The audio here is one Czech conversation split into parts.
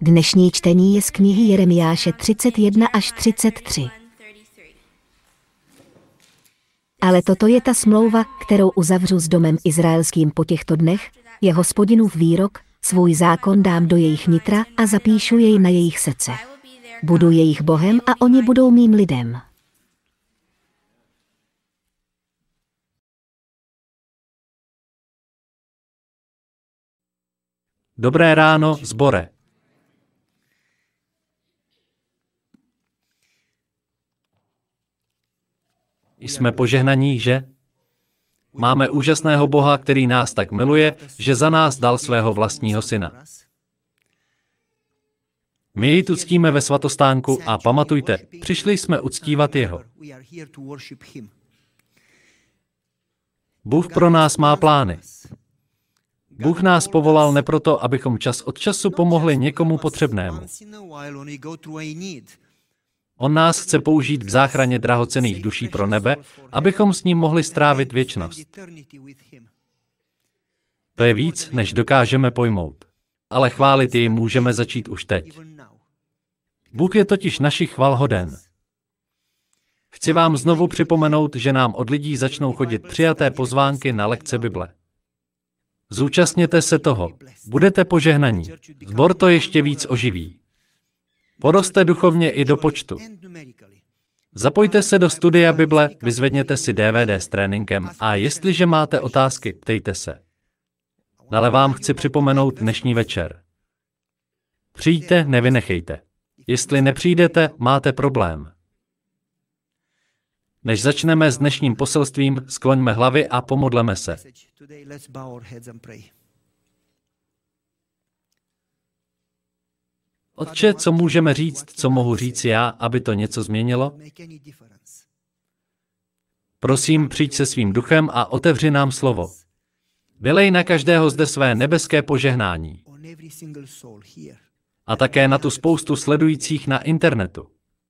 Dnešní čtení je z knihy Jeremiáše 31 až 33. Ale toto je ta smlouva, kterou uzavřu s domem izraelským po těchto dnech, je Hospodinův výrok, svůj zákon dám do jejich nitra a zapíšu jej na jejich srdce. Budu jejich Bohem a oni budou mým lidem. Dobré ráno, sbore. Jsme požehnaní, že? Máme úžasného Boha, který nás tak miluje, že za nás dal svého vlastního syna. My jej tu ctíme ve svatostánku a pamatujte, přišli jsme uctívat jeho. Bůh pro nás má plány. Bůh nás povolal ne proto, abychom čas od času pomohli někomu potřebnému. On nás chce použít v záchraně drahocenných duší pro nebe, abychom s ním mohli strávit věčnost. To je víc, než dokážeme pojmout. Ale chválit jej můžeme začít už teď. Bůh je totiž naši chval hoden. Chci vám znovu připomenout, že nám od lidí začnou chodit přijaté pozvánky na lekce Bible. Zúčastněte se toho. Budete požehnaní. Sbor to ještě víc oživí. Poroste duchovně i do počtu. Zapojte se do studia Bible, vyzvedněte si DVD s tréninkem a jestliže máte otázky, ptejte se. Ale vám chci připomenout dnešní večer. Přijďte, nevynechejte. Jestli nepřijdete, máte problém. Než začneme s dnešním poselstvím, skloňme hlavy a pomodleme se. Otče, co můžeme říct, co mohu říct já, aby to něco změnilo? Prosím, přijď se svým duchem a otevři nám slovo. Vylej na každého zde své nebeské požehnání. A také na tu spoustu sledujících na internetu.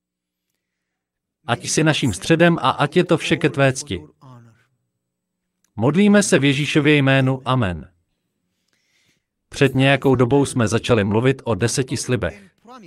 Ať jsi naším středem a ať je to vše ke tvé cti. Modlíme se v Ježíšově jménu. Amen. Před nějakou dobou jsme začali mluvit o 10 slibech.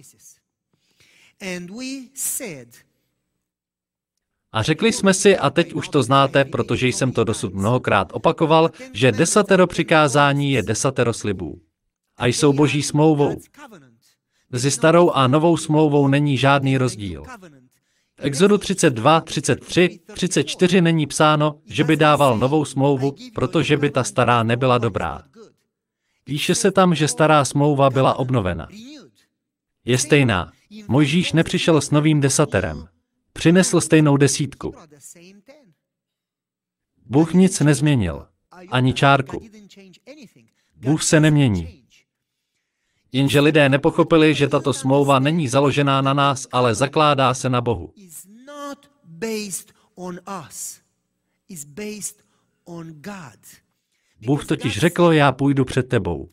A řekli jsme si, a teď už to znáte, protože jsem to dosud mnohokrát opakoval, že 10 přikázání je 10 slibů. A jsou Boží smlouvou. Mezi starou a novou smlouvou není žádný rozdíl. V Exodu 32, 33, 34 není psáno, že by dával novou smlouvu, protože by ta stará nebyla dobrá. Píše se tam, že stará smlouva byla obnovena. Je stejná. Mojžíš nepřišel s novým 10. Přinesl stejnou 10. Bůh nic nezměnil. Ani čárku. Bůh se nemění. Jenže lidé nepochopili, že tato smlouva není založená na nás, ale zakládá se na Bohu. Bůh totiž řekl, já půjdu před tebou.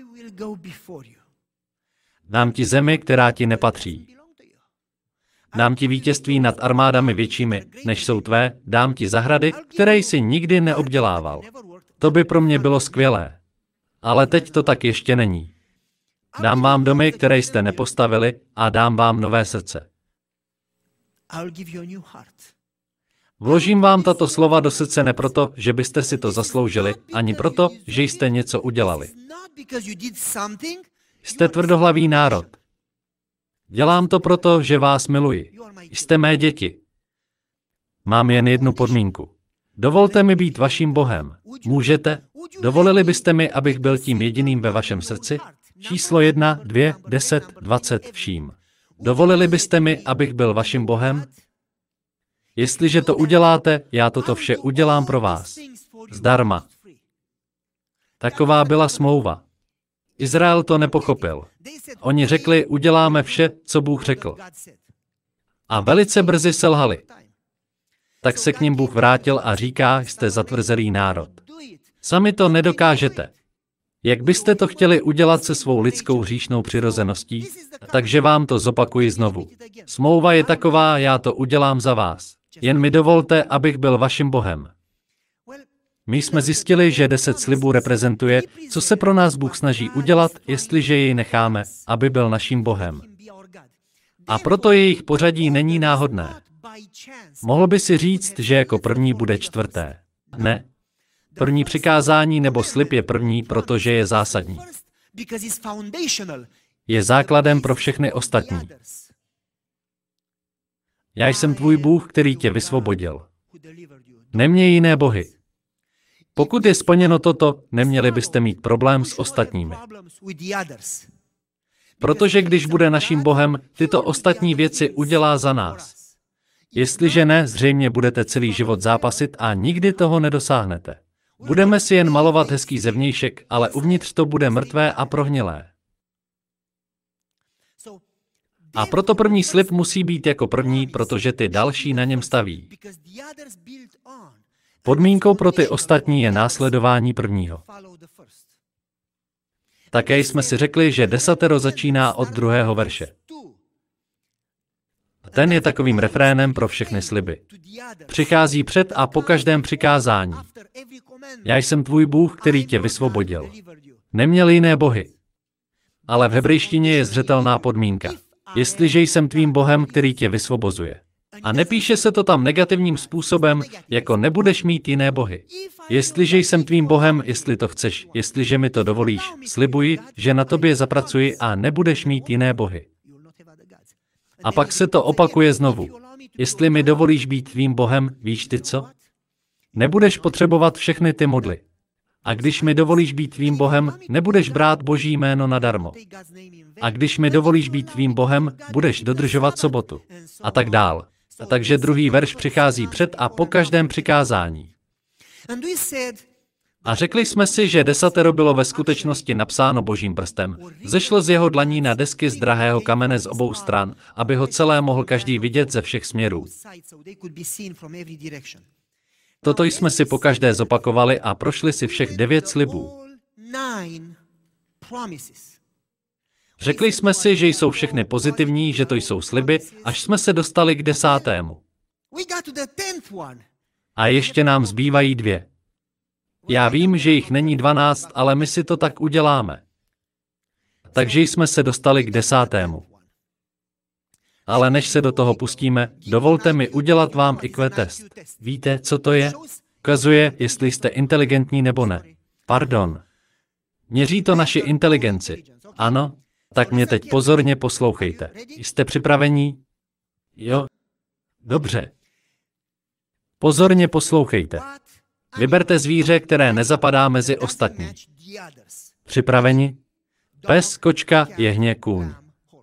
Dám ti zemi, která ti nepatří. Dám ti vítězství nad armádami většími, než jsou tvé, dám ti zahrady, které jsi nikdy neobdělával. To by pro mě bylo skvělé. Ale teď to tak ještě není. Dám vám domy, které jste nepostavili, a dám vám nové srdce. Vložím vám tato slova do srdce ne proto, že byste si to zasloužili, ani proto, že jste něco udělali. Jste tvrdohlavý národ. Dělám to proto, že vás miluji. Jste mé děti. Mám jen jednu podmínku. Dovolte mi být vaším Bohem. Můžete? Dovolili byste mi, abych byl tím jediným ve vašem srdci? Číslo 1, 2, 10, 20 vším. Dovolili byste mi, abych byl vaším Bohem? Jestliže to uděláte, já toto vše udělám pro vás. Zdarma. Taková byla smlouva. Izrael to nepochopil. Oni řekli, uděláme vše, co Bůh řekl. A velice brzy selhali. Tak se k nim Bůh vrátil a říká, jste zatvrzelý národ. Sami to nedokážete. Jak byste to chtěli udělat se svou lidskou hříšnou přirozeností, takže vám to zopakuji znovu. Smlouva je taková, já to udělám za vás. Jen mi dovolte, abych byl vaším Bohem. My jsme zjistili, že 10 slibů reprezentuje, co se pro nás Bůh snaží udělat, jestliže jej necháme, aby byl naším Bohem. A proto jejich pořadí není náhodné. Mohl by si říct, že jako první bude čtvrté. Ne. První přikázání nebo slib je první, protože je zásadní. Je základem pro všechny ostatní. Já jsem tvůj Bůh, který tě vysvobodil. Neměj jiné bohy. Pokud je splněno toto, neměli byste mít problém s ostatními. Protože když bude naším Bohem, tyto ostatní věci udělá za nás. Jestliže ne, zřejmě budete celý život zápasit a nikdy toho nedosáhnete. Budeme si jen malovat hezký zevnějšek, ale uvnitř to bude mrtvé a prohnilé. A proto první slib musí být jako první, protože ty další na něm staví. Podmínkou pro ty ostatní je následování prvního. Také jsme si řekli, že desatero začíná od 2. verše. Ten je takovým refrénem pro všechny sliby. Přichází před a po každém přikázání. Já jsem tvůj Bůh, který tě vysvobodil. Neměl jiné bohy. Ale v hebrejštině je zřetelná podmínka. Jestliže jsem tvým Bohem, který tě vysvobozuje. A nepíše se to tam negativním způsobem, jako nebudeš mít jiné bohy. Jestliže jsem tvým Bohem, jestli to chceš, jestliže mi to dovolíš, slibuji, že na tobě zapracuji a nebudeš mít jiné bohy. A pak se to opakuje znovu. Jestli mi dovolíš být tvým Bohem, víš ty co? Nebudeš potřebovat všechny ty modly. A když mi dovolíš být tvým Bohem, nebudeš brát Boží jméno nadarmo. A když mi dovolíš být tvým Bohem, budeš dodržovat sobotu. A tak dál. A takže 2. verš přichází před a po každém přikázání. A řekli jsme si, že desatero bylo ve skutečnosti napsáno Božím prstem. Zešlo z jeho dlaní na desky z drahého kamene z obou stran, aby ho celé mohl každý vidět ze všech směrů. Toto jsme si pokaždé zopakovali a prošli si všech 9 slibů. Řekli jsme si, že jsou všechny pozitivní, že to jsou sliby, až jsme se dostali k 10. A ještě nám zbývají 2. Já vím, že jich není 12, ale my si to tak uděláme. Takže jsme se dostali k 10. Ale než se do toho pustíme, dovolte mi udělat vám IQ test. Víte, co to je? Ukazuje, jestli jste inteligentní nebo ne. Pardon. Měří to naši inteligenci. Ano? Tak mě teď pozorně poslouchejte. Jste připravení? Jo? Dobře. Pozorně poslouchejte. Vyberte zvíře, které nezapadá mezi ostatní. Připraveni? Pes, kočka, jehně, kůň.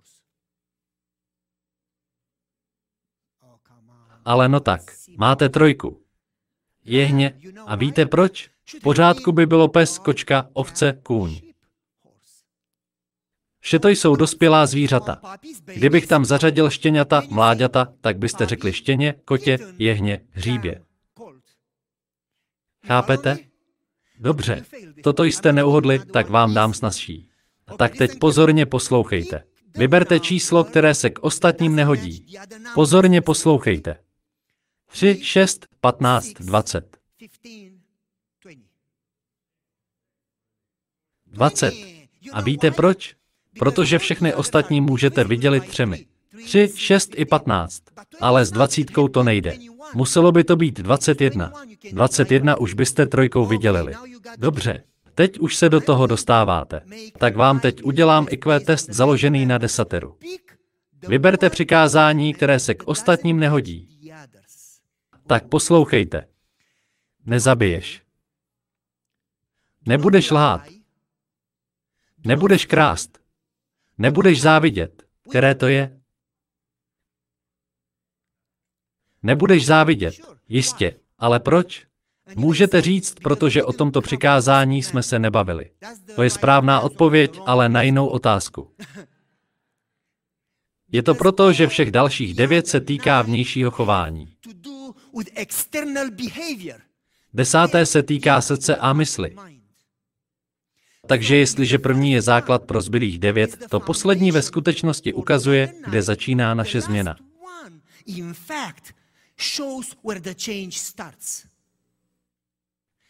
Ale no tak, máte 3. Jehně, a víte proč? V pořádku by bylo pes, kočka, ovce, kůň. Vše to jsou dospělá zvířata. Kdybych tam zařadil štěňata, mláďata, tak byste řekli štěně, kotě, jehně, hříbě. Chápete? Dobře. Toto jste neuhodli, tak vám dám snazší. Tak teď pozorně poslouchejte. Vyberte číslo, které se k ostatním nehodí. Pozorně poslouchejte. 3, 6, 15, 20. 20. A víte proč? Protože všechny ostatní můžete vydělit 3. 3, 6 i 15. Ale s 20 to nejde. Muselo by to být 21. 21 už byste 3 vydělili. Dobře, teď už se do toho dostáváte. Tak vám teď udělám IQ test založený na desateru. Vyberte přikázání, které se k ostatním nehodí. Tak poslouchejte. Nezabiješ. Nebudeš lhát. Nebudeš krást. Nebudeš závidět. Které to je? Nebudeš závidět. Jistě. Ale proč? Můžete říct, protože o tomto přikázání jsme se nebavili. To je správná odpověď, ale na jinou otázku. Je to proto, že všech dalších 9 se týká vnějšího chování. 10. se týká srdce a mysli. Takže jestliže první je základ pro zbylých 9, to poslední ve skutečnosti ukazuje, kde začíná naše změna.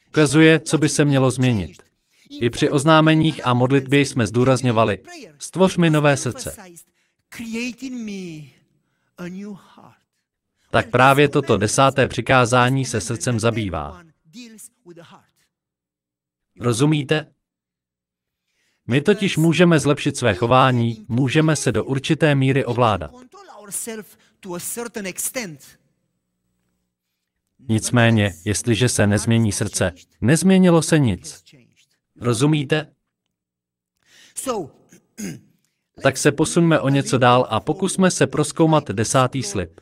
Ukazuje, co by se mělo změnit. I při oznámeních a modlitbě jsme zdůrazňovali, stvoř mi nové srdce. Tak právě toto 10. přikázání se srdcem zabývá. Rozumíte? My totiž můžeme zlepšit své chování, můžeme se do určité míry ovládat. Nicméně, jestliže se nezmění srdce, nezměnilo se nic. Rozumíte? Tak se posuňme o něco dál a pokusme se prozkoumat 10. slib.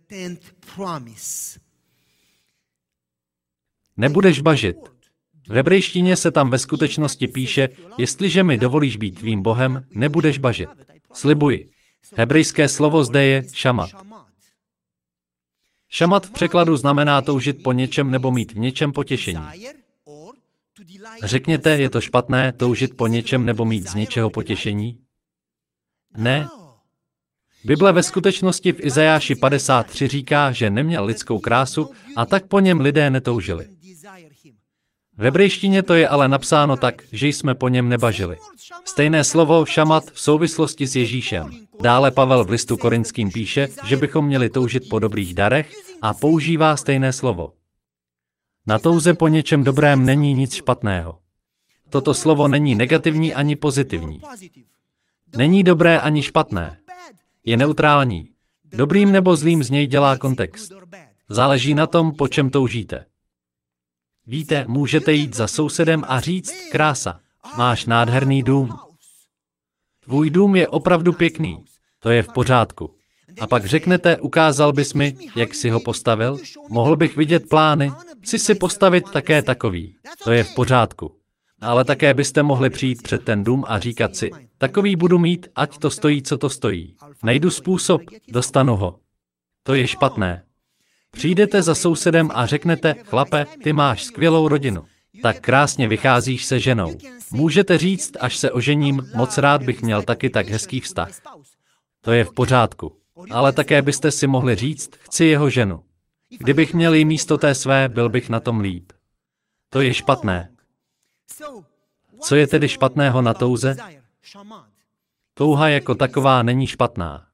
Nebudeš bažit. V hebrejštině se tam ve skutečnosti píše, jestliže mi dovolíš být tvým Bohem, nebudeš bažit. Slibuji. Hebrejské slovo zde je šamat. Šamat v překladu znamená toužit po něčem nebo mít v něčem potěšení. Řekněte, je to špatné toužit po něčem nebo mít z něčeho potěšení? Ne. Bible ve skutečnosti v Izajáši 53 říká, že neměl lidskou krásu a tak po něm lidé netoužili. V hebrejštině to je ale napsáno tak, že jsme po něm nebažili. Stejné slovo šamat v souvislosti s Ježíšem. Dále Pavel v listu Korinským píše, že bychom měli toužit po dobrých darech a používá stejné slovo. Na touze po něčem dobrém není nic špatného. Toto slovo není negativní ani pozitivní. Není dobré ani špatné. Je neutrální. Dobrým nebo zlým z něj dělá kontext. Záleží na tom, po čem toužíte. Víte, můžete jít za sousedem a říct, krása, máš nádherný dům. Tvůj dům je opravdu pěkný. To je v pořádku. A pak řeknete, ukázal bys mi, jak jsi ho postavil? Mohl bych vidět plány? Chci si postavit také takový. To je v pořádku. Ale také byste mohli přijít před ten dům a říkat si, takový budu mít, ať to stojí, co to stojí. Najdu způsob, dostanu ho. To je špatné. Přijdete za sousedem a řeknete, chlape, ty máš skvělou rodinu. Tak krásně vycházíš se ženou. Můžete říct, až se ožením, moc rád bych měl taky tak hezký vztah. To je v pořádku. Ale také byste si mohli říct, chci jeho ženu. Kdybych měl jí místo té své, byl bych na tom líp. To je špatné. Co je tedy špatného na touze? Touha jako taková není špatná.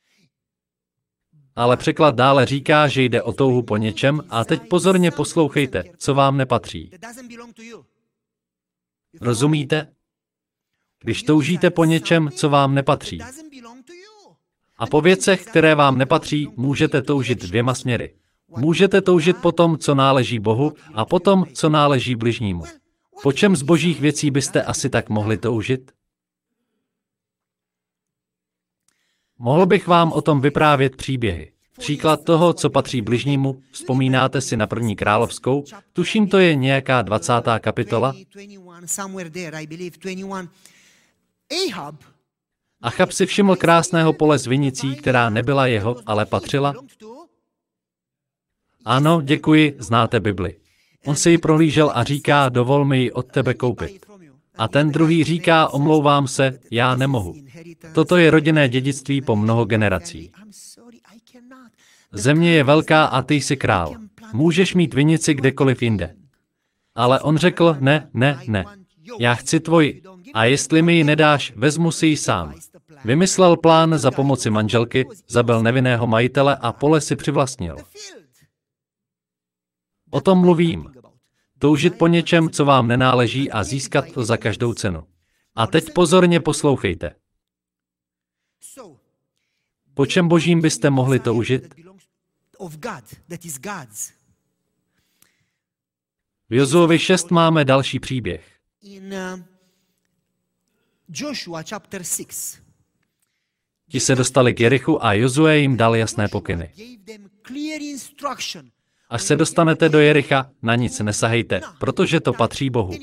Ale překlad dále říká, že jde o touhu po něčem a teď pozorně poslouchejte, co vám nepatří. Rozumíte? Když toužíte po něčem, co vám nepatří. A po věcech, které vám nepatří, můžete toužit dvěma směry. Můžete toužit po tom, co náleží Bohu, a po tom, co náleží bližnímu. Po čem z božích věcí byste asi tak mohli toužit? Mohl bych vám o tom vyprávět příběhy. Příklad toho, co patří bližnímu, vzpomínáte si na 1. královskou, tuším, to je nějaká 20. kapitola. Achab si všiml krásného pole s vinicí, která nebyla jeho, ale patřila. Ano, děkuji, znáte Bibli. On si ji prohlížel a říká, dovol mi ji od tebe koupit. A ten druhý říká, omlouvám se, já nemohu. Toto je rodinné dědictví po mnoho generací. Země je velká a ty jsi král. Můžeš mít vinici kdekoliv jinde. Ale on řekl, ne. Já chci tvoji. A jestli mi ji nedáš, vezmu si ji sám. Vymyslel plán za pomoci manželky, zabil nevinného majitele a pole si přivlastnil. O tom mluvím. Toužit po něčem, co vám nenáleží a získat to za každou cenu. A teď pozorně poslouchejte. Po čem božím byste mohli toužit? V Jozuovi 6 máme další příběh. Ti se dostali k Jerichu a Jozue jim dal jasné pokyny. Až se dostanete do Jericha, na nic nesahejte, protože to patří Bohu.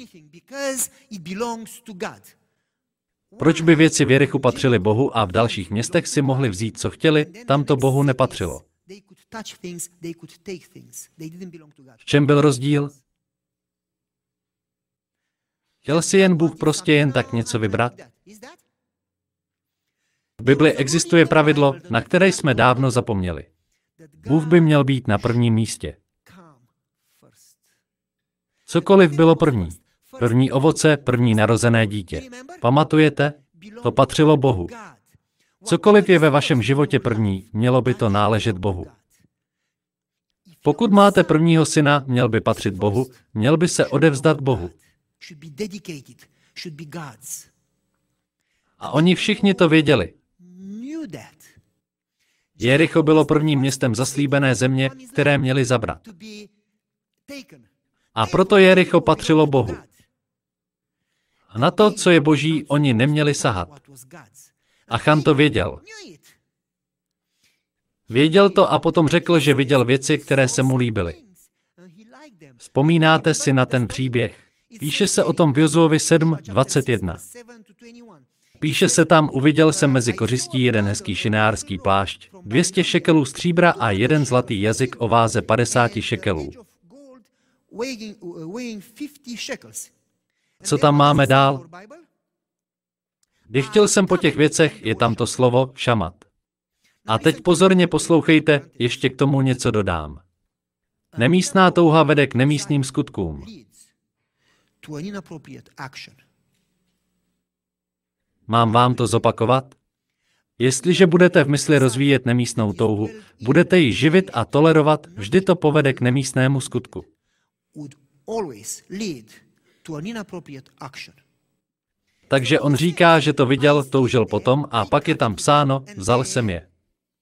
Proč by věci v Jerichu patřily Bohu a v dalších městech si mohli vzít, co chtěli, tam to Bohu nepatřilo? V čem byl rozdíl? Chtěl si jen Bůh prostě jen tak něco vybrat? V Bibli existuje pravidlo, na které jsme dávno zapomněli. Bůh by měl být na prvním místě. Cokoliv bylo první. První ovoce, první narozené dítě. Pamatujete? To patřilo Bohu. Cokoliv je ve vašem životě první, mělo by to náležet Bohu. Pokud máte prvního syna, měl by patřit Bohu, měl by se odevzdat Bohu. A oni všichni to věděli. Jericho bylo prvním městem zaslíbené země, které měli zabrat. A proto Jericho patřilo Bohu. A na to, co je boží, oni neměli sahat. Achan to věděl. Věděl to a potom řekl, že viděl věci, které se mu líbily. Vzpomínáte si na ten příběh? Píše se o tom v Jozuovi 7:21. Píše se tam, uviděl jsem mezi kořistí jeden hezký šinářský plášť, 200 šekelů stříbra a jeden zlatý jazyk o váze 50 šekelů. Co tam máme dál? Když chtěl jsem po těch věcech, je tam to slovo šamat. A teď pozorně poslouchejte, ještě k tomu něco dodám. Nemístná touha vede k nemístným skutkům. Mám vám to zopakovat? Jestliže budete v mysli rozvíjet nemístnou touhu, budete ji živit a tolerovat, vždy to povede k nemístnému skutku. Takže on říká, že to viděl, toužil potom a pak je tam psáno, vzal jsem je.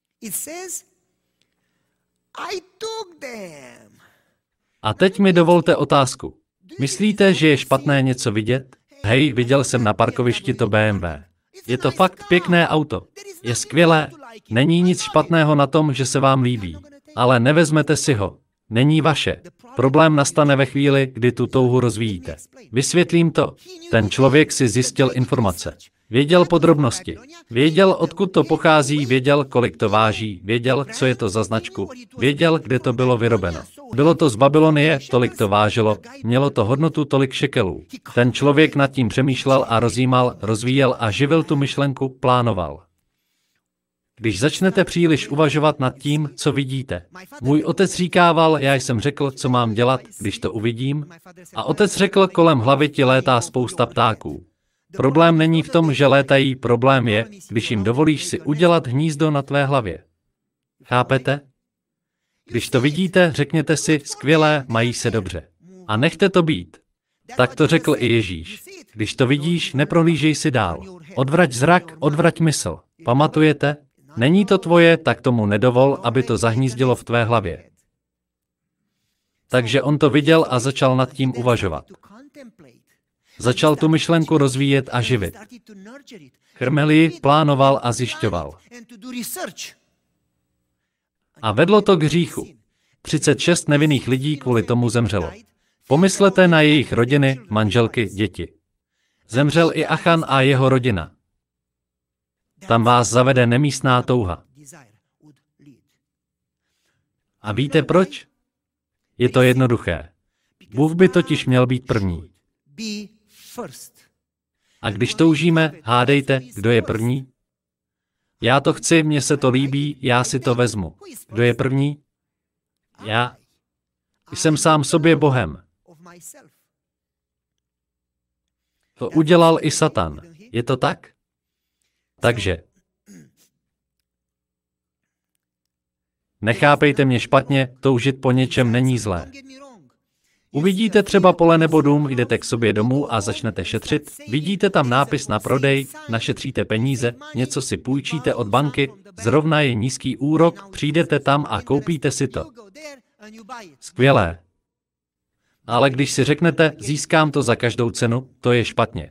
A teď mi dovolte otázku. Myslíte, že je špatné něco vidět? Hej, viděl jsem na parkovišti to BMW. Je to fakt pěkné auto. Je skvělé. Není nic špatného na tom, že se vám líbí. Ale nevezmete si ho. Není vaše. Problém nastane ve chvíli, kdy tu touhu rozvíjíte. Vysvětlím to. Ten člověk si zjistil informace. Věděl podrobnosti. Věděl, odkud to pochází, věděl, kolik to váží, věděl, co je to za značku, věděl, kde to bylo vyrobeno. Bylo to z Babylonie, tolik to vážilo, mělo to hodnotu tolik šekelů. Ten člověk nad tím přemýšlel a rozjímal, rozvíjel a živil tu myšlenku, plánoval. Když začnete příliš uvažovat nad tím, co vidíte. Můj otec říkával, já jsem řekl, co mám dělat, když to uvidím, a otec řekl, kolem hlavy ti létá spousta ptáků. Problém není v tom, že létají, problém je, když jim dovolíš si udělat hnízdo na tvé hlavě. Chápete? Když to vidíte, řekněte si, skvělé, mají se dobře. A nechte to být. Tak to řekl i Ježíš. Když to vidíš, neprohlížej si dál. Odvrať zrak, odvrať mysl. Pamatujete? Není to tvoje, tak tomu nedovol, aby to zahnízdilo v tvé hlavě. Takže on to viděl a začal nad tím uvažovat. Začal tu myšlenku rozvíjet a živit. Krmil ji, plánoval a zjišťoval. A vedlo to k hříchu. 36 nevinných lidí kvůli tomu zemřelo. Pomyslete na jejich rodiny, manželky, děti. Zemřel i Achan a jeho rodina. Tam vás zavede nemístná touha. A víte proč? Je to jednoduché. Bůh by totiž měl být první. A když toužíme, hádejte, kdo je první? Já to chci, mně se to líbí, já si to vezmu. Kdo je první? Já. Jsem sám sobě Bohem. To udělal i Satan. Je to tak? Takže. Nechápejte mě špatně, toužit po něčem není zlé. Uvidíte třeba pole nebo dům, jdete k sobě domů a začnete šetřit, vidíte tam nápis na prodej, našetříte peníze, něco si půjčíte od banky, zrovna je nízký úrok, přijdete tam a koupíte si to. Skvělé. Ale když si řeknete, získám to za každou cenu, to je špatně.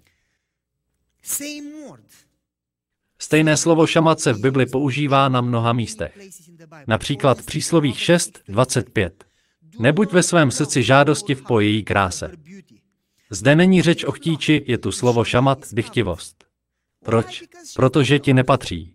Stejné slovo šamat se v Bibli používá na mnoha místech. Například v Příslovích 6:25. Nebuď ve svém srdci žádostiv po její kráse. Zde není řeč o chtíči, je tu slovo šamat, dychtivost. Proč? Protože ti nepatří.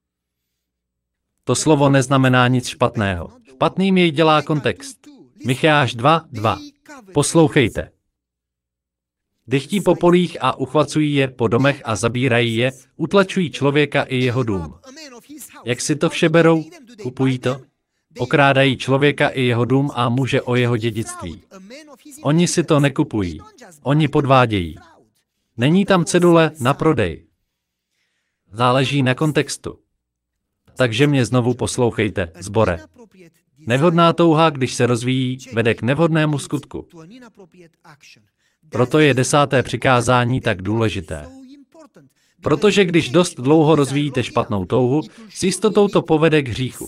To slovo neznamená nic špatného. Špatným jej dělá kontext. Micheáš 2:2. Poslouchejte. Dychtí po polích a uchvacují je po domech a zabírají je, utlačují člověka i jeho dům. Jak si to vše berou? Kupují to? Okrádají člověka i jeho dům a muže o jeho dědictví. Oni si to nekupují. Oni podvádějí. Není tam cedule na prodej. Záleží na kontextu. Takže mě znovu poslouchejte, sbore. Nevhodná touha, když se rozvíjí, vede k nevhodnému skutku. Proto je 10. přikázání tak důležité. Protože když dost dlouho rozvíjíte špatnou touhu, s jistotou to povede k hříchu.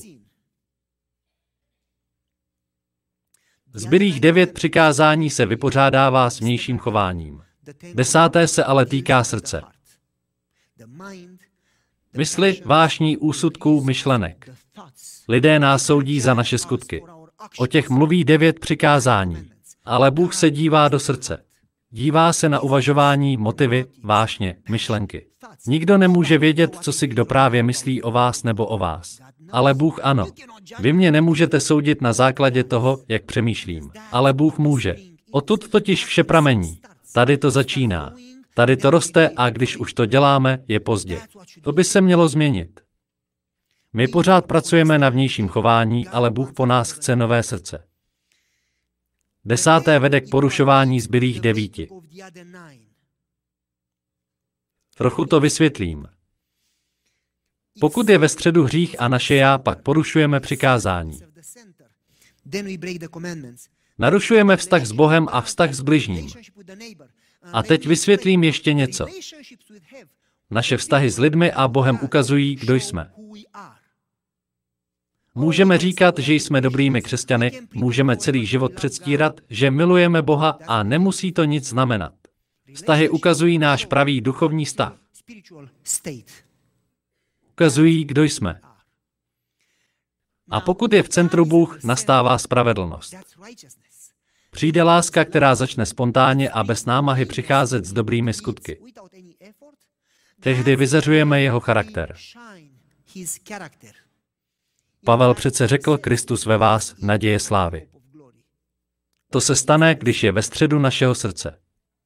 Zbylých 9 přikázání se vypořádává s vnějším chováním. 10. se ale týká srdce. Mysli, vášní, úsudků, myšlenek. Lidé nás soudí za naše skutky. O těch mluví 9 přikázání. Ale Bůh se dívá do srdce. Dívá se na uvažování, motivy, vášně, myšlenky. Nikdo nemůže vědět, co si kdo právě myslí o vás nebo o vás. Ale Bůh ano. Vy mě nemůžete soudit na základě toho, jak přemýšlím. Ale Bůh může. Odtud totiž vše pramení. Tady to začíná. Tady to roste a když už to děláme, je pozdě. To by se mělo změnit. My pořád pracujeme na vnějším chování, ale Bůh po nás chce nové srdce. 10. vede k porušování zbylých 9. Trochu to vysvětlím. Pokud je ve středu hřích a naše já, pak porušujeme přikázání. Narušujeme vztah s Bohem a vztah s bližním. A teď vysvětlím ještě něco. Naše vztahy s lidmi a Bohem ukazují, kdo jsme. Můžeme říkat, že jsme dobrými křesťany, můžeme celý život předstírat, že milujeme Boha a nemusí to nic znamenat. Vztahy ukazují náš pravý duchovní stav. Ukazují, kdo jsme. A pokud je v centru Bůh, nastává spravedlnost. Přijde láska, která začne spontánně a bez námahy přicházet s dobrými skutky. Tehdy vyzařujeme jeho charakter. Pavel přece řekl, Kristus ve vás, naděje slávy. To se stane, když je ve středu našeho srdce.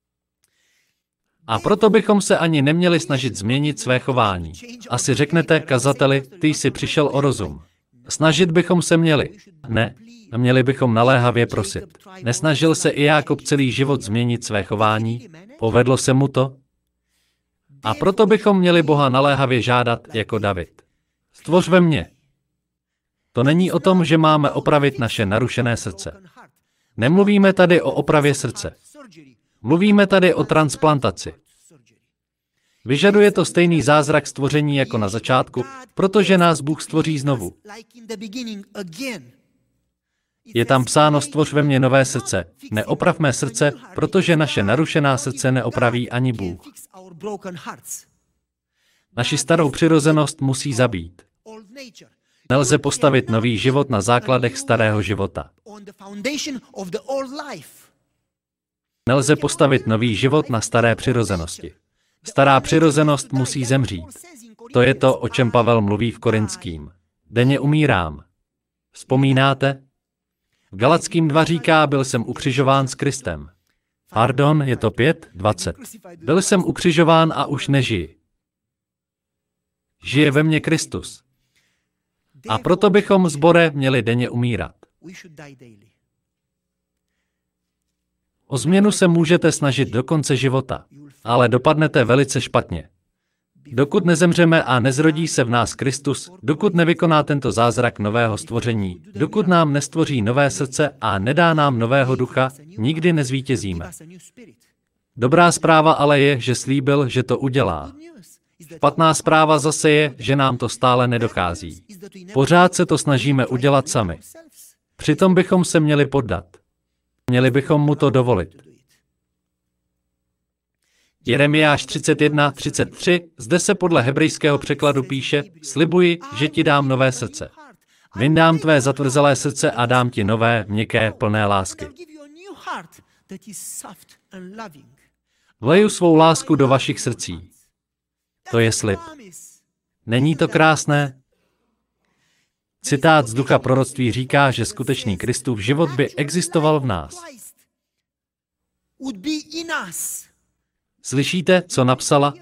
A proto bychom se ani neměli snažit změnit své chování. Asi řeknete, kazateli, ty jsi přišel o rozum. Snažit bychom se měli. Ne, měli bychom naléhavě prosit. Nesnažil se i Jákob celý život změnit své chování? Povedlo se mu to? A proto bychom měli Boha naléhavě žádat jako David. Stvoř ve mně. To není o tom, že máme opravit naše narušené srdce. Nemluvíme tady o opravě srdce. Mluvíme tady o transplantaci. Vyžaduje to stejný zázrak stvoření jako na začátku, protože nás Bůh stvoří znovu. Je tam psáno, stvoř ve mně nové srdce. Neoprav mé srdce, protože naše narušená srdce neopraví ani Bůh. Naši starou přirozenost musí zabít. Nelze postavit nový život na základech starého života. Nelze postavit nový život na staré přirozenosti. Stará přirozenost musí zemřít. To je to, o čem Pavel mluví v Korinským. Denně umírám. Vzpomínáte? V Galackým 2 říká, byl jsem ukřižován s Kristem. Pardon, je to 5:20. Byl jsem ukřižován a už nežiji. Žije ve mně Kristus. A proto bychom, sbore, měli denně umírat. O změnu se můžete snažit do konce života, ale dopadnete velice špatně. Dokud nezemřeme a nezrodí se v nás Kristus, dokud nevykoná tento zázrak nového stvoření, dokud nám nestvoří nové srdce a nedá nám nového ducha, nikdy nezvítězíme. Dobrá zpráva ale je, že slíbil, že to udělá. Špatná zpráva zase je, že nám to stále nedochází. Pořád se to snažíme udělat sami. Přitom bychom se měli poddat. Měli bychom mu to dovolit. Jeremiáš 31:33, zde se podle hebrejského překladu píše, slibuji, že ti dám nové srdce. Vyndám tvé zatvrzelé srdce a dám ti nové, měkké, plné lásky. Vleju svou lásku do vašich srdcí. To je slib. Není to krásné? Citát z ducha proroctví říká, že skutečný Kristův život by existoval v nás. Slyšíte, co napsala?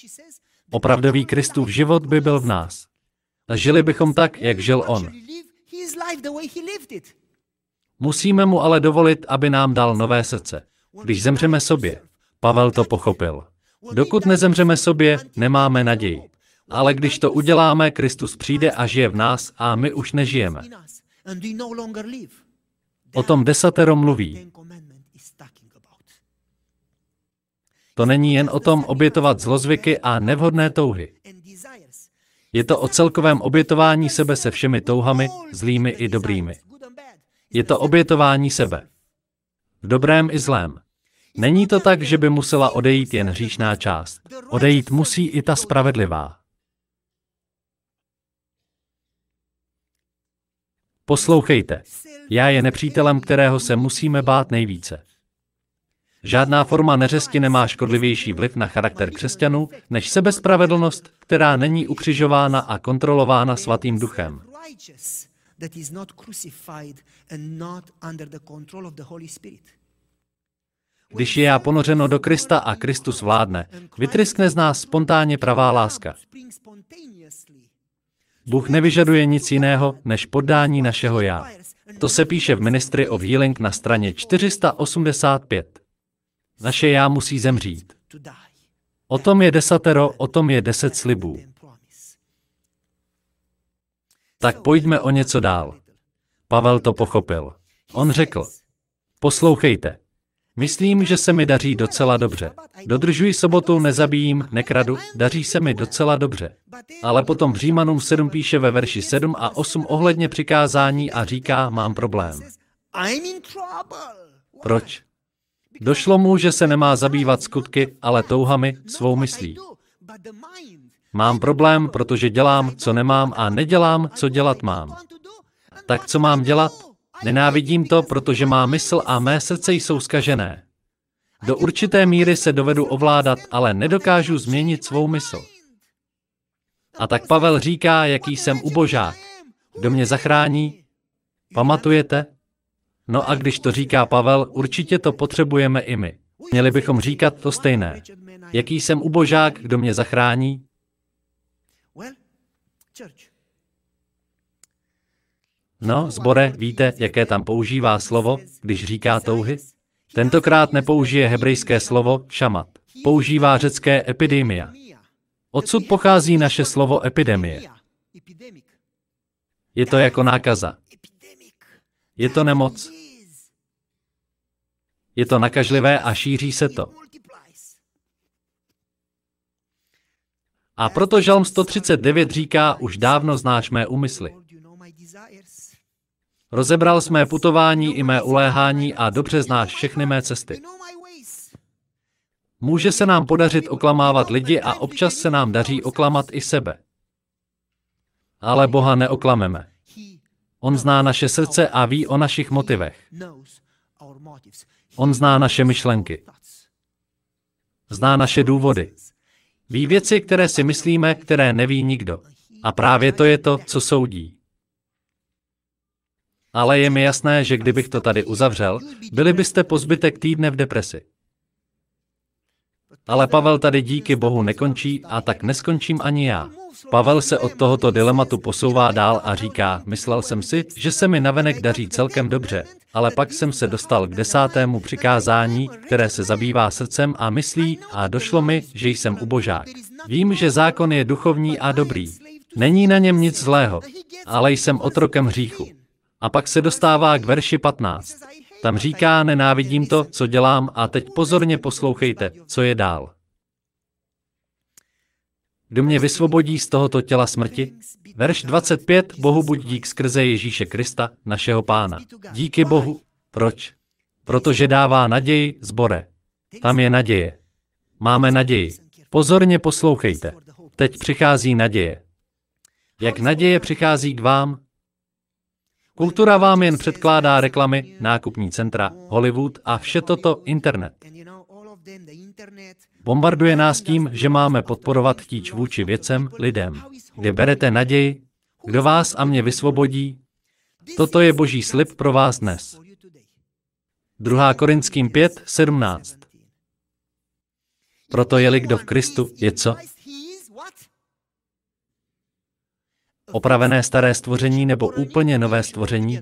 Opravdový Kristův život by byl v nás. A žili bychom tak, jak žil on. Musíme mu ale dovolit, aby nám dal nové srdce. Když zemřeme sobě, Pavel to pochopil. Dokud nezemřeme sobě, nemáme naději. Ale když to uděláme, Kristus přijde a žije v nás a my už nežijeme. O tom desatero mluví. To není jen o tom obětovat zlozvyky a nevhodné touhy. Je to o celkovém obětování sebe se všemi touhami, zlými i dobrými. Je to obětování sebe. V dobrém i zlém. Není to tak, že by musela odejít jen hříšná část. Odejít musí i ta spravedlivá. Poslouchejte. Já je nepřítelem, kterého se musíme bát nejvíce. Žádná forma neřesti nemá škodlivější vliv na charakter křesťanů, než sebespravedlnost, která není ukřižována a kontrolována Svatým Duchem. Když je já ponořeno do Krista a Kristus vládne, vytryskne z nás spontánně pravá láska. Bůh nevyžaduje nic jiného, než poddání našeho já. To se píše v Ministry of Healing na straně 485. Naše já musí zemřít. O tom je desatero, o tom je 10 slibů. Tak pojďme o něco dál. Pavel to pochopil. On řekl, poslouchejte. Myslím, že se mi daří docela dobře. Dodržuji sobotu, nezabijím, nekradu, daří se mi docela dobře. Ale potom v Římanům 7 píše ve verši 7 a 8 ohledně přikázání a říká, mám problém. Proč? Došlo mu, že se nemá zabývat skutky, ale touhami, svou myslí. Mám problém, protože dělám, co nemám a nedělám, co dělat mám. Tak co mám dělat? Nenávidím to, protože má mysl a mé srdce jsou zkažené. Do určité míry se dovedu ovládat, ale nedokážu změnit svou mysl. A tak Pavel říká, jaký jsem ubožák. Kdo mě zachrání? Pamatujete? No a když to říká Pavel, určitě to potřebujeme i my. Měli bychom říkat to stejné. Jaký jsem ubožák, kdo mě zachrání? No, sbore, víte, jaké tam používá slovo, když říká touhy? Tentokrát nepoužije hebrejské slovo šamat. Používá řecké epidemia. Odsud pochází naše slovo epidemie. Je to jako nákaza. Je to nemoc. Je to nakažlivé a šíří se to. A proto Žalm 139 říká, už dávno znáš mé úmysly. Rozebral jsi mé putování i mé uléhání a dobře znáš všechny mé cesty. Může se nám podařit oklamávat lidi a občas se nám daří oklamat i sebe. Ale Boha neoklameme. On zná naše srdce a ví o našich motivech. On zná naše myšlenky. Zná naše důvody. Ví věci, které si myslíme, které neví nikdo. A právě to je to, co soudí. Ale je mi jasné, že kdybych to tady uzavřel, byli byste po zbytek týdne v depresi. Ale Pavel tady díky Bohu nekončí a tak neskončím ani já. Pavel se od tohoto dilematu posouvá dál a říká, myslel jsem si, že se mi navenek daří celkem dobře, ale pak jsem se dostal k 10. přikázání, které se zabývá srdcem a myslí a došlo mi, že jsem ubožák. Vím, že zákon je duchovní a dobrý. Není na něm nic zlého, ale jsem otrokem hříchu. A pak se dostává k verši 15. Tam říká, nenávidím to, co dělám a teď pozorně poslouchejte, co je dál. Kdo mě vysvobodí z tohoto těla smrti? Verš 25, Bohu buď dík skrze Ježíše Krista, našeho Pána. Díky Bohu. Proč? Protože dává naději, sbore. Tam je naděje. Máme naději. Pozorně poslouchejte. Teď přichází naděje. Jak naděje přichází k vám? Kultura vám jen předkládá reklamy, nákupní centra, Hollywood a vše toto internet. Bombarduje nás tím, že máme podporovat chtíč vůči věcem, lidem. Kde berete naději? Kdo vás a mě vysvobodí? Toto je Boží slib pro vás dnes. 2. Korinským 5, 17. Proto je-li kdo v Kristu, je co? Opravené staré stvoření nebo úplně nové stvoření?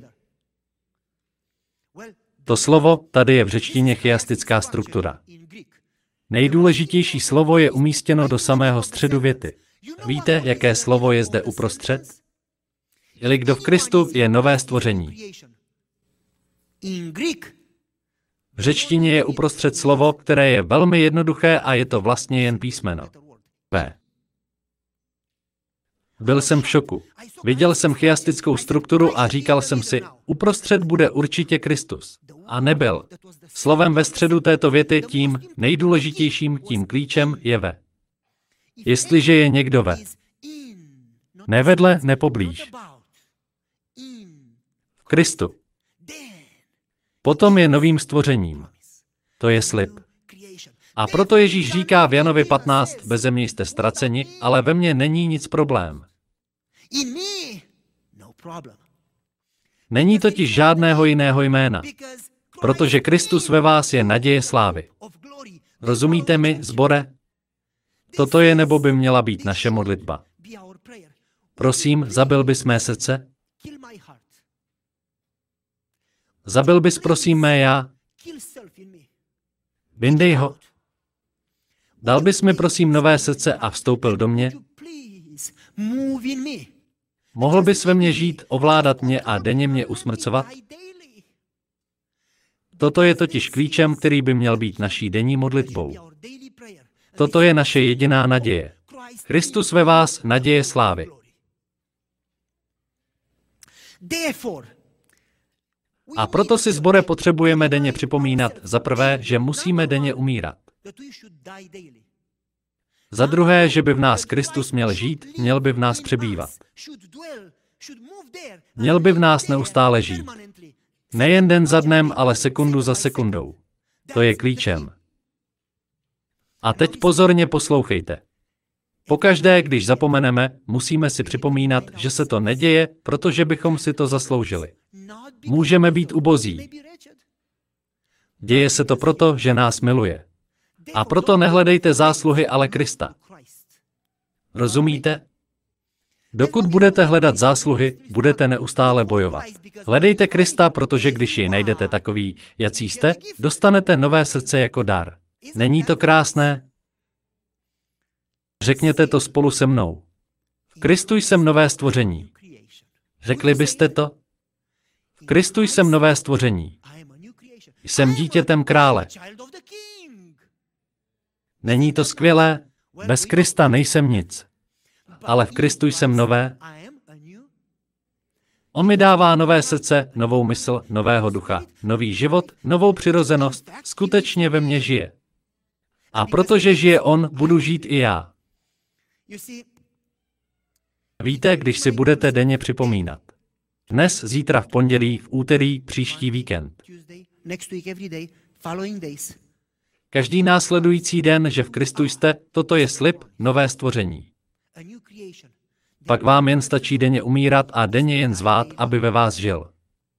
To slovo tady je v řečtině chiastická struktura. Nejdůležitější slovo je umístěno do samého středu věty. Víte, jaké slovo je zde uprostřed? Jeli kdo v Kristu, je nové stvoření. V řečtině je uprostřed slovo, které je velmi jednoduché a je to vlastně jen písmeno. P. Byl jsem v šoku. Viděl jsem chiastickou strukturu a říkal jsem si, uprostřed bude určitě Kristus. A nebyl. Slovem ve středu této věty tím nejdůležitějším, tím klíčem je ve. Jestliže je někdo ve. Nevedle, nepoblíž. V Kristu. Potom je novým stvořením. To je slib. A proto Ježíš říká v Janovi 15, beze mě jste ztraceni, ale ve mně není nic problém. Není totiž žádného jiného jména, protože Kristus ve vás je naděje slávy. Rozumíte mi, sbore? Toto je nebo by měla být naše modlitba. Prosím, zabil bys mé srdce? Zabil bys prosím mé já? Vyndej ho. Dal bys mi prosím nové srdce a vstoupil do mě? Mohl bys ve mně žít, ovládat mě a denně mě usmrcovat? Toto je totiž klíčem, který by měl být naší denní modlitbou. Toto je naše jediná naděje. Kristus ve vás, naděje slávy. A proto si, sbore, potřebujeme denně připomínat, za prvé, že musíme denně umírat. Za druhé, že by v nás Kristus měl žít, měl by v nás přebývat. Měl by v nás neustále žít. Nejen den za dnem, ale sekundu za sekundou. To je klíčem. A teď pozorně poslouchejte. Pokaždé, když zapomeneme, musíme si připomínat, že se to neděje, protože bychom si to zasloužili. Můžeme být ubozí. Děje se to proto, že nás miluje. A proto nehledejte zásluhy, ale Krista. Rozumíte? Dokud budete hledat zásluhy, budete neustále bojovat. Hledejte Krista, protože když ji najdete takový, jací jste, dostanete nové srdce jako dar. Není to krásné? Řekněte to spolu se mnou. V Kristu jsem nové stvoření. Řekli byste to? V Kristu jsem nové stvoření. Jsem dítětem krále. Není to skvělé? Bez Krista nejsem nic. Ale v Kristu jsem nové. On mi dává nové srdce, novou mysl, nového ducha, nový život, novou přirozenost, skutečně ve mně žije. A protože žije on, budu žít i já. Víte, když si budete denně připomínat. Dnes, zítra, v pondělí, v úterý, příští víkend. Každý následující den, že v Kristu jste, toto je slib, nové stvoření. Pak vám jen stačí denně umírat a denně jen zvát, aby ve vás žil.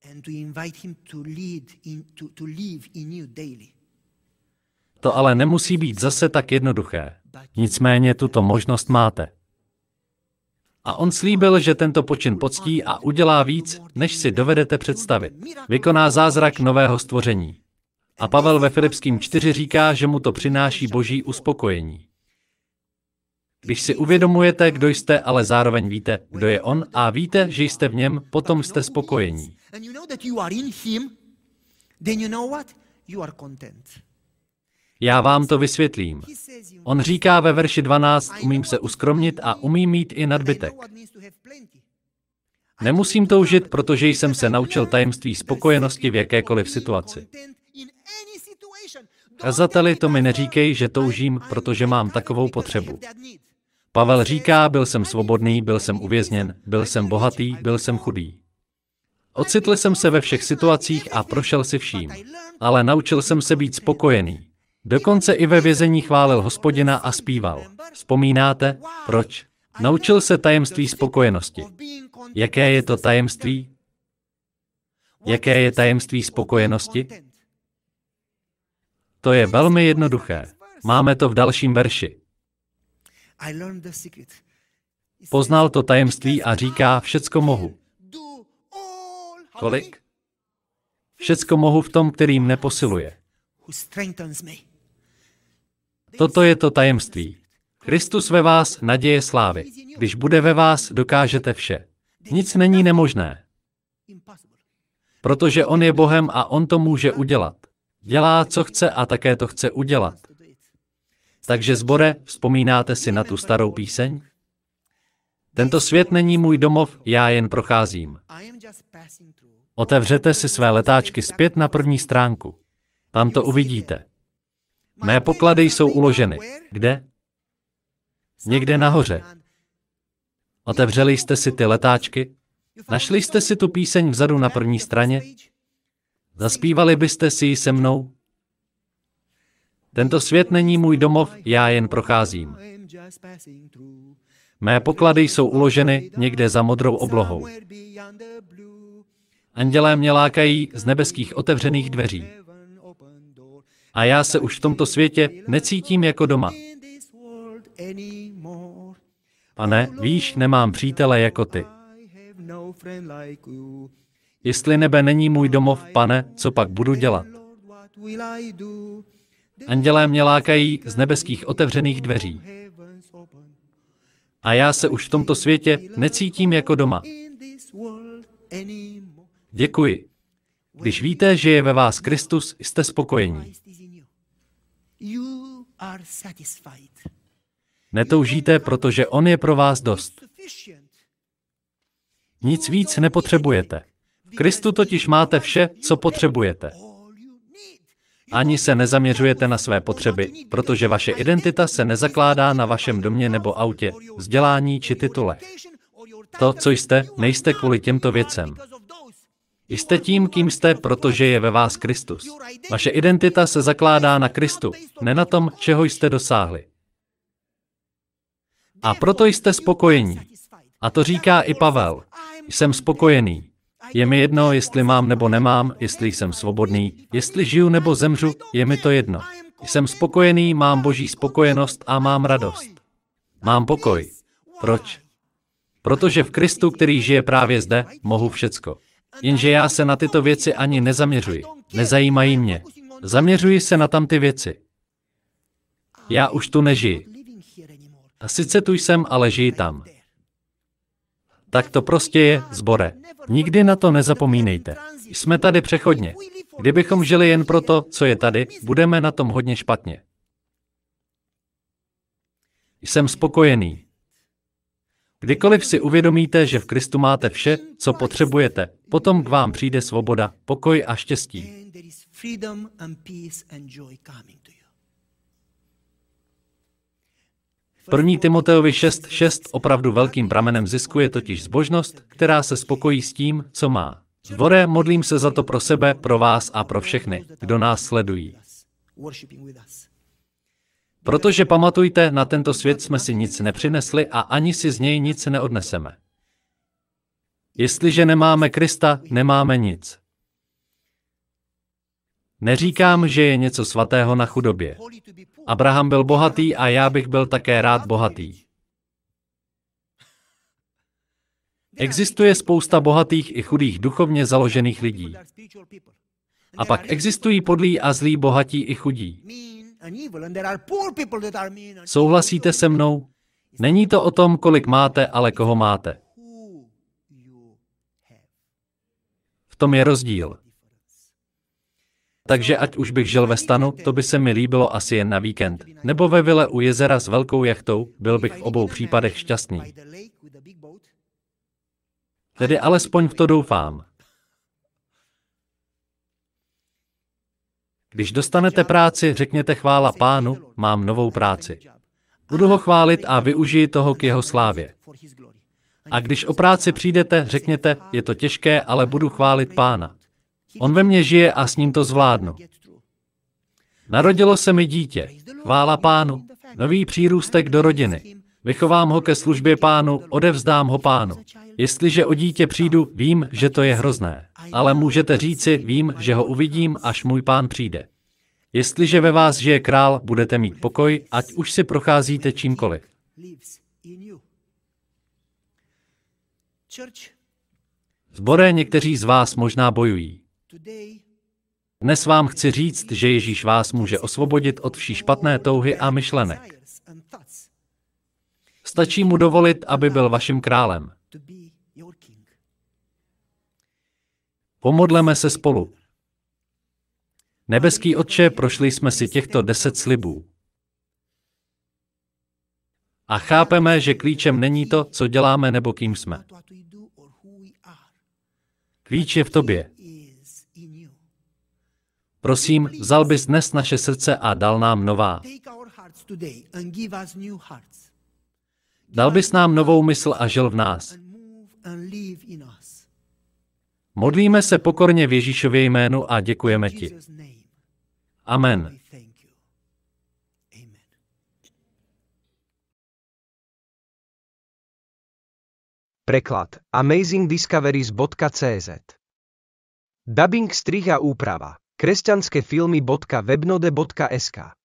To ale nemusí být zase tak jednoduché. Nicméně tuto možnost máte. A on slíbil, že tento počin poctí a udělá víc, než si dovedete představit. Vykoná zázrak nového stvoření. A Pavel ve Filipským 4 říká, že mu to přináší boží uspokojení. Když si uvědomujete, kdo jste, ale zároveň víte, kdo je on, a víte, že jste v něm, potom jste spokojení. Já vám to vysvětlím. On říká ve verši 12, umím se uskromnit a umím mít i nadbytek. Nemusím toužit, protože jsem se naučil tajemství spokojenosti v jakékoliv situaci. Kazateli, to mi neříkej, že toužím, protože mám takovou potřebu. Pavel říká, byl jsem svobodný, byl jsem uvězněn, byl jsem bohatý, byl jsem chudý. Ocitl jsem se ve všech situacích a prošel si vším. Ale naučil jsem se být spokojený. Dokonce i ve vězení chválil Hospodina a zpíval. Vzpomínáte? Proč? Naučil se tajemství spokojenosti. Jaké je to tajemství? Jaké je tajemství spokojenosti? To je velmi jednoduché. Máme to v dalším verši. Poznal to tajemství a říká, všecko mohu. Kolik? Všecko mohu v tom, který mne posiluje. Toto je to tajemství. Kristus ve vás, naděje slávy. Když bude ve vás, dokážete vše. Nic není nemožné. Protože on je Bohem a on to může udělat. Dělá, co chce a také to chce udělat. Takže sbore, vzpomínáte si na tu starou píseň? Tento svět není můj domov, já jen procházím. Otevřete si své letáčky zpět na první stránku. Tam to uvidíte. Mé poklady jsou uloženy. Kde? Někde nahoře. Otevřeli jste si ty letáčky? Našli jste si tu píseň vzadu na první straně? Zaspívali byste si ji se mnou? Tento svět není můj domov, já jen procházím. Mé poklady jsou uloženy někde za modrou oblohou. Andělé mě lákají z nebeských otevřených dveří. A já se už v tomto světě necítím jako doma. Pane, víš, nemám přítele jako ty. Jestli nebe není můj domov, Pane, co pak budu dělat? Andělé mě lákají z nebeských otevřených dveří. A já se už v tomto světě necítím jako doma. Děkuji. Když víte, že je ve vás Kristus, jste spokojení. Netoužíte, protože on je pro vás dost. Nic víc nepotřebujete. V Kristu totiž máte vše, co potřebujete. Ani se nezaměřujete na své potřeby, protože vaše identita se nezakládá na vašem domě nebo autě, vzdělání či titule. To, co jste, nejste kvůli těmto věcem. Jste tím, kým jste, protože je ve vás Kristus. Vaše identita se zakládá na Kristu, ne na tom, čeho jste dosáhli. A proto jste spokojení. A to říká i Pavel. Jsem spokojený. Je mi jedno, jestli mám nebo nemám, jestli jsem svobodný, jestli žiju nebo zemřu, je mi to jedno. Jsem spokojený, mám Boží spokojenost a mám radost. Mám pokoj. Proč? Protože v Kristu, který žije právě zde, mohu všecko. Jenže já se na tyto věci ani nezaměřuji. Nezajímají mě. Zaměřuji se na tamty věci. Já už tu nežiji. A sice tu jsem, ale žiji tam. Tak to prostě je, sbore. Nikdy na to nezapomínejte. Jsme tady přechodně. Kdybychom žili jen pro to, co je tady, budeme na tom hodně špatně. Jsem spokojený. Kdykoliv si uvědomíte, že v Kristu máte vše, co potřebujete, potom k vám přijde svoboda, pokoj a štěstí. 1. Timoteovi 6:6 opravdu velkým pramenem zisku je totiž zbožnost, která se spokojí s tím, co má. Sbore, modlím se za to pro sebe, pro vás a pro všechny, kdo nás sledují. Protože pamatujte, na tento svět jsme si nic nepřinesli a ani si z něj nic neodneseme. Jestliže nemáme Krista, nemáme nic. Neříkám, že je něco svatého na chudobě. Abraham byl bohatý a já bych byl také rád bohatý. Existuje spousta bohatých i chudých duchovně založených lidí. A pak existují podlí a zlí bohatí i chudí. Souhlasíte se mnou? Není to o tom, kolik máte, ale koho máte. V tom je rozdíl. Takže ať už bych žil ve stanu, to by se mi líbilo asi jen na víkend. Nebo ve vile u jezera s velkou jachtou, byl bych v obou případech šťastný. Tedy alespoň v to doufám. Když dostanete práci, řekněte chvála Pánu, mám novou práci. Budu ho chválit a využiji toho k jeho slávě. A když o práci přijdete, řekněte, je to těžké, ale budu chválit Pána. On ve mně žije a s ním to zvládnu. Narodilo se mi dítě. Chvála Pánu. Nový přírůstek do rodiny. Vychovám ho ke službě Pánu, odevzdám ho Pánu. Jestliže o dítě přijdu, vím, že to je hrozné. Ale můžete říci, vím, že ho uvidím, až můj Pán přijde. Jestliže ve vás žije král, budete mít pokoj, ať už si procházíte čímkoliv. Zbore, někteří z vás možná bojují. Dnes vám chci říct, že Ježíš vás může osvobodit od vší špatné touhy a myšlenek. Stačí mu dovolit, aby byl vaším králem. Pomodleme se spolu. Nebeský Otče, prošli jsme si těchto 10 slibů. A chápeme, že klíčem není to, co děláme nebo kým jsme. Klíč je v tobě. Prosím, vzal bys dnes naše srdce a dal nám nová. Dal bys nám novou mysl a žil v nás. Modlíme se pokorně v Ježíšově jménu a děkujeme ti. Amen. Preklad amazingdiscoveries.cz. Dubbing, strih a úprava kresťanskefilmy.webnode.sk